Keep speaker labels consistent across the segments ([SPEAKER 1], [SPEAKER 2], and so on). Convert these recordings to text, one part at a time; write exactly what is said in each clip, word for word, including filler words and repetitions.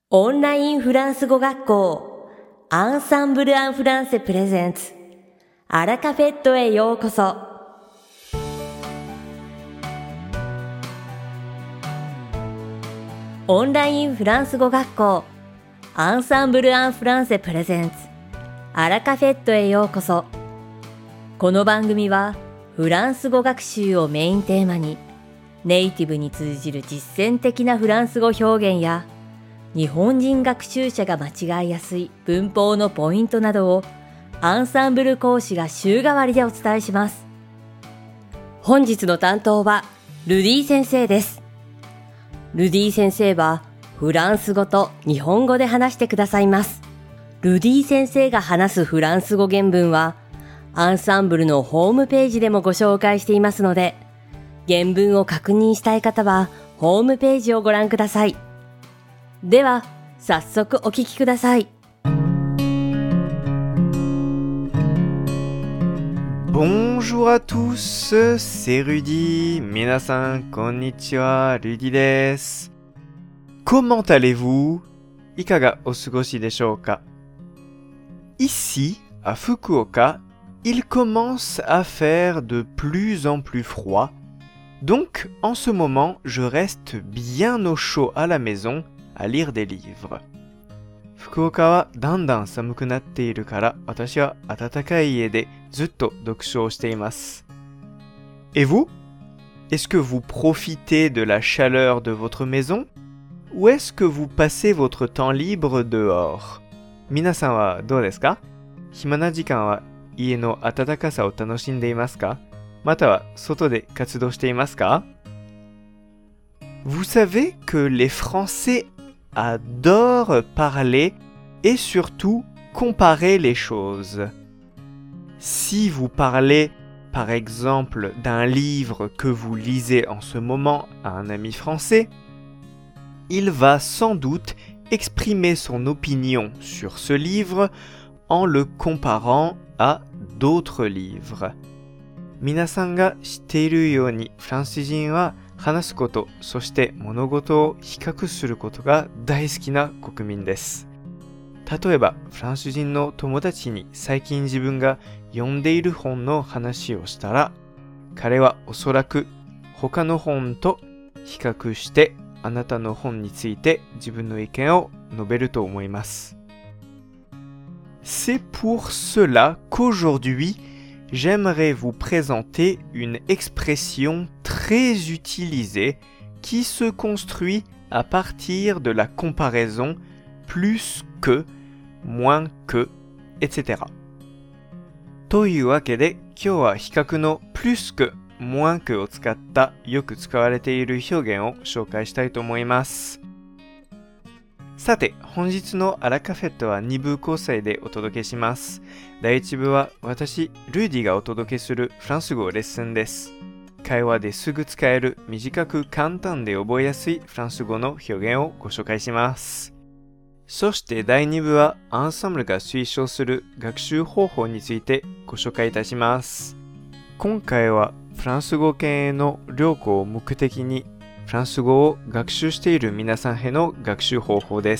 [SPEAKER 1] オンラインフランス語学校アンサンブル・アン・フランセプレゼンツアラカフェットへようこそ。オンラインフランス語学校アンサンブル・アン・フランセプレゼンツアラカフェットへようこそ。この番組はフランス語学習をメインテーマにネイティブに通じる実践的なフランス語表現や日本人学習者が間違いやすい文法のポイントなどをアンサンブル講師が週替わりでお伝えします。本日の担当はルディ先生です。ルディ先生はフランス語と日本語で話してくださいます。ルディ先生が話すフランス語原文はアンサンブルのホームページでもご紹介していますので、原文を確認したい方はホームページをご覧ください。では早速お聞きください。
[SPEAKER 2] Bonjour à tous, c'est Rudy. 皆さんこんにちは、ルディです。Comment allez-vous? いかがお過ごしでしょうか？ Ici, à Fukuoka, il commence à faire de plus en plus froid. Donc, en ce moment, je reste bien au chaud à la maison à lire des livres. 福岡はだんだん寒くなっているから、私は暖かい家でずっと読書をしています。Et vous? Est-ce que vous profitez de la chaleur de votre maison? Ou est-ce que vous passez votre temps libre dehors? 皆さんはどうですか？暇な時間は家の暖かさを楽しんでいますか？または外で活動していますか？ Vous savez que les Français adorent parler et surtout comparer les choses. Si vous parlez, par exemple, d'un livre que vous lisez en ce moment à un ami français, il va sans doute exprimer son opinion sur ce livre en le comparant à d'autres livres. 皆さんが知っているように、フランス人は話すこと、そして物事を比較することが大好きな国民です。例えば、フランス人の友達に最近自分が読んでいる本の話をしたら、彼はおそらく他の本と比較してあなたの本について自分の意見を述べると思います。C'est pour cela qu'aujourd'hui, j'aimerais vous présenter une expression très utilisée qui se construit à partir de la comparaison plus que, moins que, et cetera. というわけで、今日は比較の plus que, moins que を使ったよく使われている表現を紹介したいと思います。さて、本日のアラカフェットはに部構成でお届けします。だいいち部は私、ルーディがお届けするフランス語レッスンです。会話ですぐ使える短く簡単で覚えやすいフランス語の表現をご紹介します。そしてだいに部はアンサンブルが推奨する学習方法についてご紹介いたします。今回はフランス語圏への旅行を目的にフランス語を学習している皆さんへの学習方法です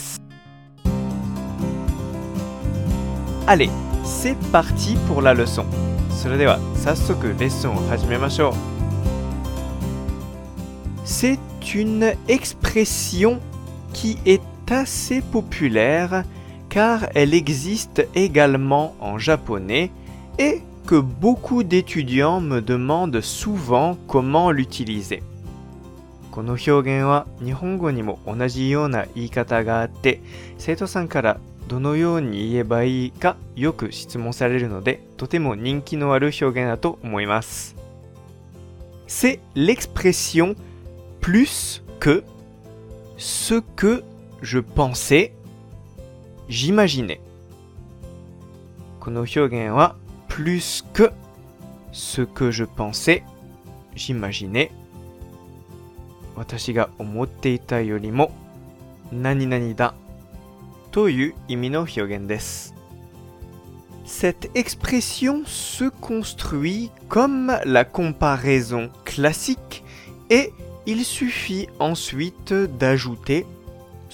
[SPEAKER 2] 。Allez, c'est parti pour la leçon. それでは早速レッスンを始めましょう。C'est une expression qui est assez populaire car elle existe également en japonais et que beaucoup d'étudiants me demandent souvent comment l'utiliser. この表現は日本語にも同じような言い方があって、生徒さんからどのように言えばいいかよく質問されるので、とても人気のある表現だと思います。C'est l'expression plus que ce que je pensais, j'imaginais. この表現は plus que ce que je pensais, j'imaginais. 私が思っていたよりも何々だという意味の表現です。Cette expression se construit comme la comparaison classique et il suffit ensuite d'ajouter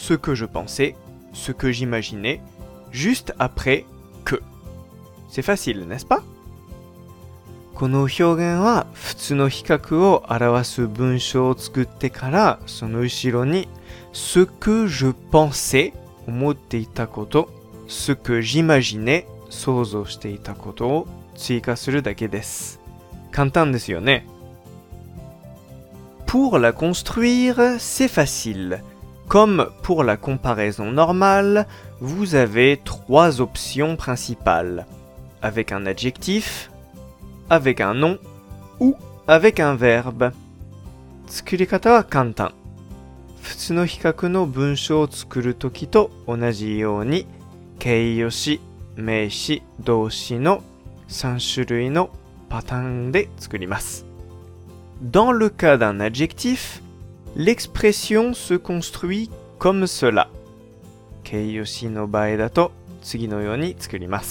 [SPEAKER 2] ce que je pensais, ce que j'imaginais, juste après que. C'est facile, n'est-ce pas? この表現は普通の比較を表す文章を作ってから、その後ろにce que je pensais 思っていたこと、ce que j'imaginais 想像していたことを追加するだけです。簡単ですよね。Pour la construire, c'est facile. Comme pour la comparaison normale, vous avez trois options principales. Avec un adjectif, avec un nom ou avec un verbe. 作り方は簡単。普通の比較の文章を作るときと同じように、形容詞、名詞、動詞のさん種類のパターンで作ります。Dans le cas d'un adjectif, l'expression se construit comme cela. 形容詞の場合だと次のように作ります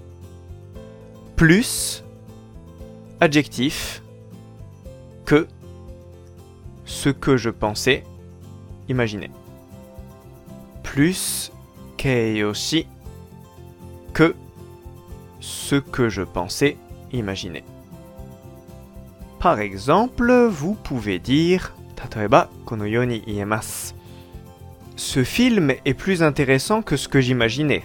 [SPEAKER 2] 。plus adjectif que ce que je pensais, imaginez. Plus 形容詞 que ce que je pensais, imaginez. Par exemple, vous pouvez dire, 例えばこのように言えます。Ce film est plus intéressant que ce que j'imaginais.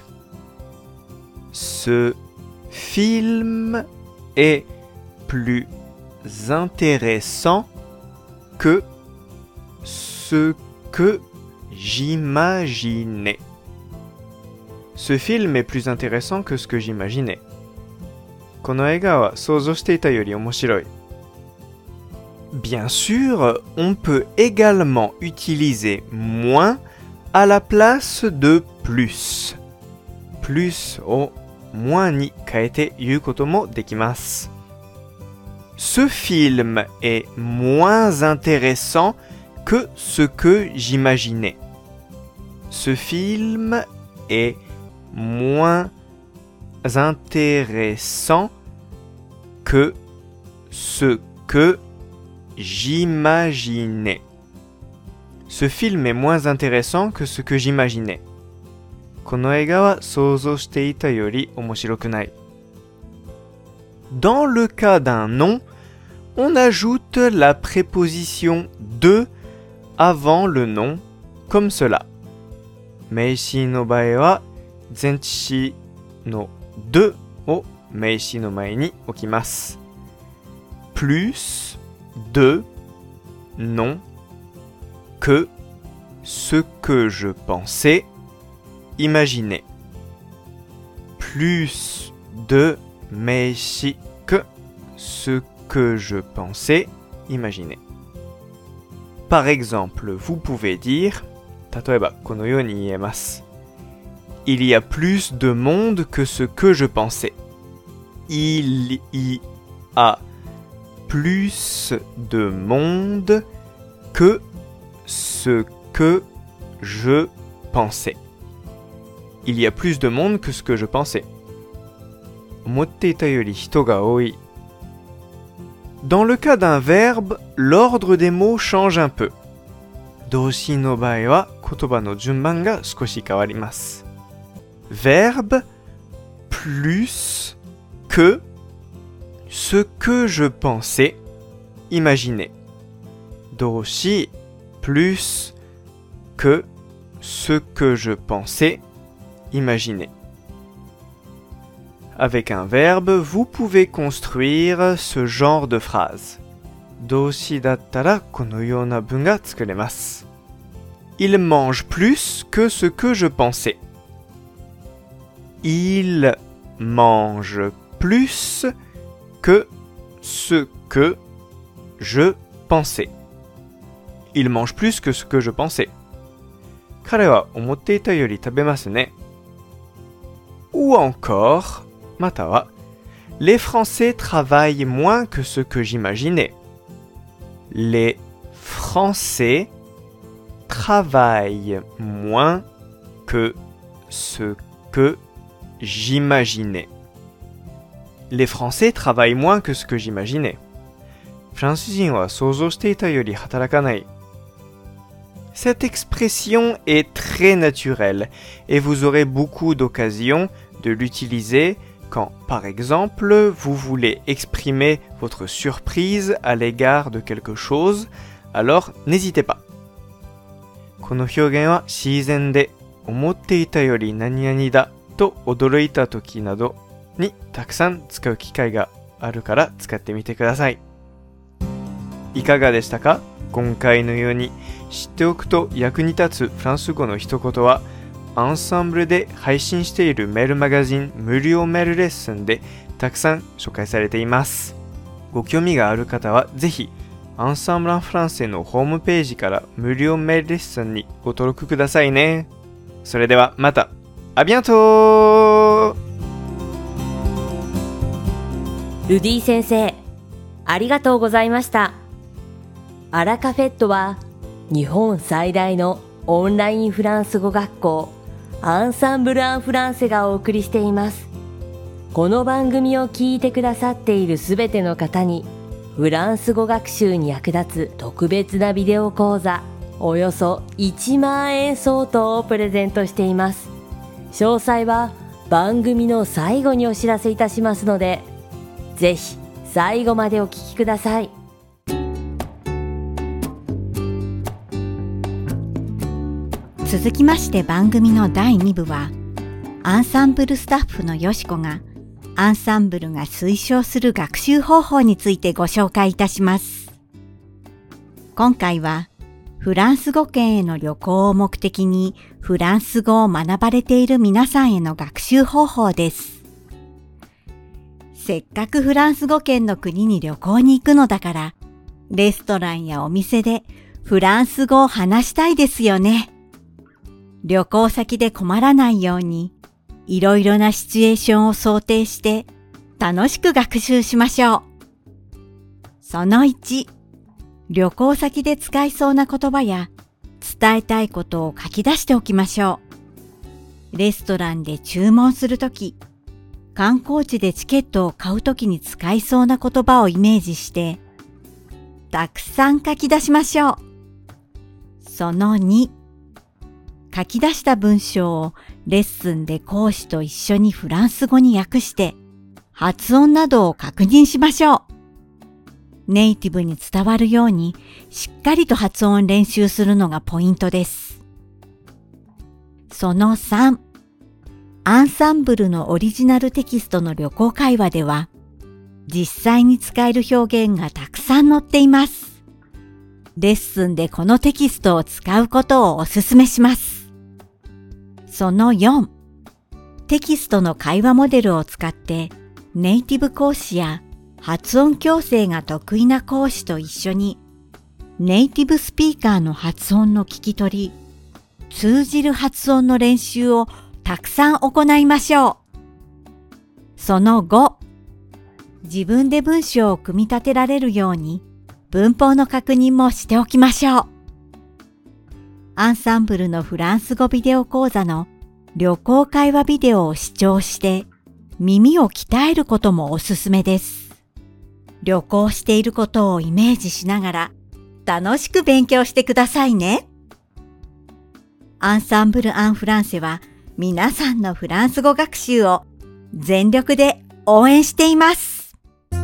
[SPEAKER 2] Ce film est plus intéressant que ce que j'imaginais. Ce film est plus intéressant que ce que j'imaginais. この映画は想像していたより面白い。Bien sûr, on peut également utiliser moins à la place de plus. Plus をmoinsに変えて言うこともできます。Ce film est moins intéressant que ce que j'imaginais. Ce film est moins intéressant que ce que j'imaginais. Ce film est moins intéressant que ce que j'imaginais. この映画は想像していたより面白くない。Dans le cas d'un nom, on ajoute la préposition de avant le nom, comme cela. 名詞の場合は前置詞のdeを名詞の前に置きます。plus de nom que ce que je pensais, imaginez. Plus de 名詞 que ce que je pensais, imaginez. Par exemple, vous pouvez dire, 例えばこのように言えます。Il y a plus de monde que ce que je pensais. Il y a plus de monde que ce que je pensais. Il y a plus de monde que ce que je pensais. 思っていたより人が多い。Dans le cas d'un verbe, l'ordre des mots change un peu. 動詞の場合は言葉の順番が少し変わります。Verbe plus que ce que je pensais, imaginez. 動詞 plus que ce que je pensais, imaginez. Avec un verbe, vous pouvez construire ce genre de phrase. 動詞だったらこのような文が作れます。Il mange plus que ce que je pensais. Il mange plus que ce que je pensais. Il mange plus que ce que je pensais. 彼は思っていたより食べますね。Ou encore, または、les Français travaillent moins que ce que j'imaginais. Les Français travaillent moins que ce que j'imaginais. Les Français travaillent moins que ce que j'imaginais. フランス人は想像していたより働かない。 Cette expression est très naturelle et vous aurez beaucoup d'occasions de l'utiliser quand, par exemple, vous voulez exprimer votre surprise à l'égard de quelque chose, alors n'hésitez pas. この表現は自然で思っていたより何々だと驚いた時などにたくさん使う機会があるから使ってみてください。いかがでしたか？今回のように知っておくと役に立つフランス語の一言はアンサンブルで配信しているメールマガジン無料メールレッスンでたくさん紹介されています。ご興味がある方はぜひアンサンブル・アン・フランセのホームページから無料メールレッスンにご登録くださいね。それではまた。あビアントー。
[SPEAKER 1] ルディ先生、ありがとうございました。アラカフェットは日本最大のオンラインフランス語学校アンサンブル・アン・フランセがお送りしています。この番組を聞いてくださっているすべての方にフランス語学習に役立つ特別なビデオ講座およそいちまんえん相当をプレゼントしています。詳細は番組の最後にお知らせいたしますので、ぜひ最後までお聞きください。
[SPEAKER 3] 続きまして番組のだいに部は、アンサンブルスタッフのよしこがアンサンブルが推奨する学習方法についてご紹介いたします。今回はフランス語圏への旅行を目的にフランス語を学ばれている皆さんへの学習方法です。せっかくフランス語圏の国に旅行に行くのだから、レストランやお店でフランス語を話したいですよね。旅行先で困らないように、いろいろなシチュエーションを想定して楽しく学習しましょう。そのいち、旅行先で使いそうな言葉や伝えたいことを書き出しておきましょう。レストランで注文するとき、観光地でチケットを買うときに使いそうな言葉をイメージして、たくさん書き出しましょう。そのに、書き出した文章をレッスンで講師と一緒にフランス語に訳して発音などを確認しましょう。ネイティブに伝わるようにしっかりと発音練習するのがポイントです。そのさん、アンサンブルのオリジナルテキストの旅行会話では実際に使える表現がたくさん載っています。レッスンでこのテキストを使うことをお勧めします。そのよん、テキストの会話モデルを使ってネイティブ講師や発音矯正が得意な講師と一緒にネイティブスピーカーの発音の聞き取り、通じる発音の練習をたくさん行いましょう。そのご、自分で文章を組み立てられるように文法の確認もしておきましょう。アンサンブルのフランス語ビデオ講座の旅行会話ビデオを視聴して耳を鍛えることもおすすめです。旅行していることをイメージしながら楽しく勉強してくださいね。アンサンブル・アン・フランセは皆さんのフランス語学習を全力で応援しています。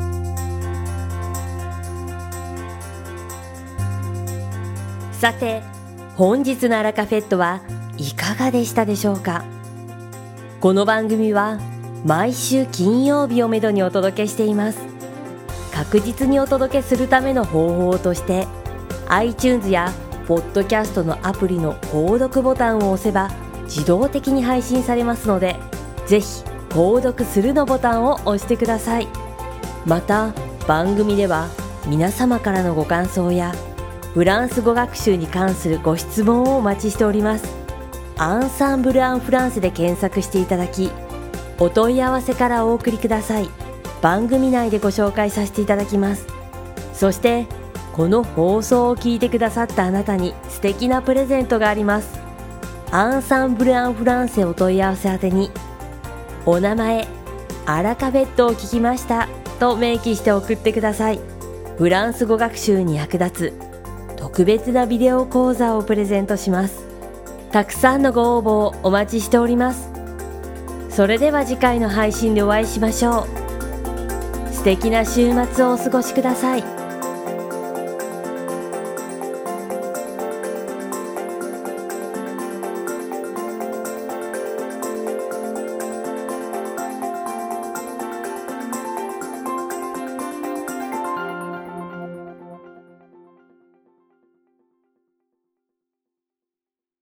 [SPEAKER 1] さて、本日のアラカフェットはいかがでしたでしょうか。この番組は毎週金曜日をめどにお届けしています。確実にお届けするための方法として iTunes やポッドキャストのアプリの購読ボタンを押せば自動的に配信されますので、ぜひ購読するのボタンを押してください。また番組では皆様からのご感想やフランス語学習に関するご質問をお待ちしております。アンサンブル・アン・フランセで検索していただき、お問い合わせからお送りください。番組内でご紹介させていただきます。そしてこの放送を聞いてくださったあなたに素敵なプレゼントがあります。アンサンブル・アン・フランセお問い合わせ宛てに、お名前、アラカフェットを聞きましたと明記して送ってください。フランス語学習に役立つ特別なビデオ講座をプレゼントします。たくさんのご応募をお待ちしております。それでは次回の配信でお会いしましょう。素敵な週末をお過ごしください。